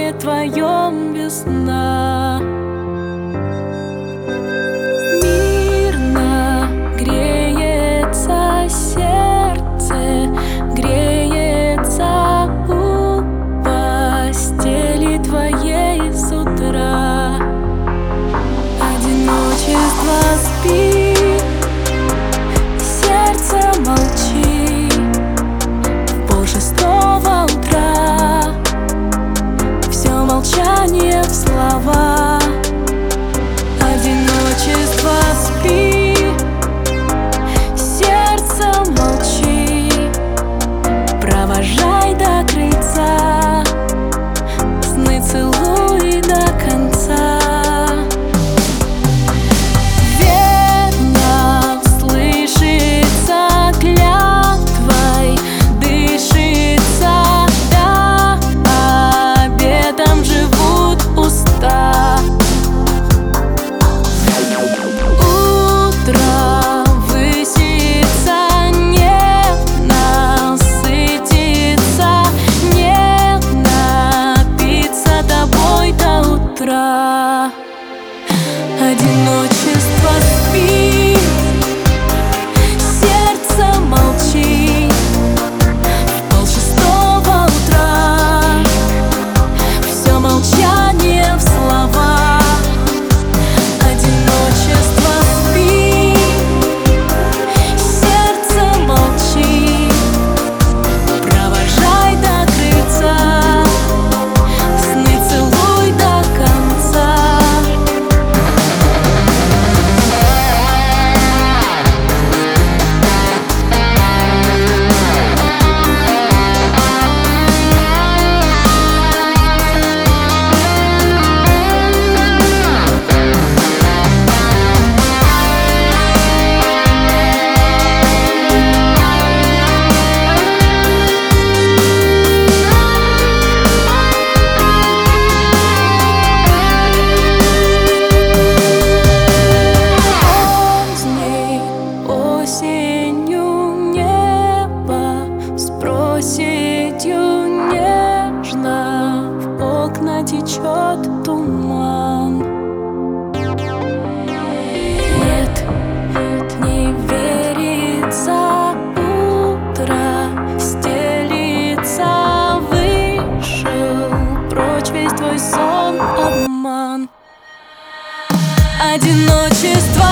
доме твоем весна. Мирно греется сердце, греется у постели твоей с утра. Одиночество спит, сердце молчит. В 5:30 утра все молчание в слова. Одиночество спит, сердце молчит. Провожай до крыльца, сны целуй до конца. Одиночество спит, сердце молчит. В 5:30 утра все молчание в слова. Одиночество спит, сердце молчит. Провожай до крыльца, сны целуй до конца. Осенью небо с проседью нежно, в окна течет туман. Нет, не верится, утро стелится, вышел прочь весь твой сон, обман. Одиночество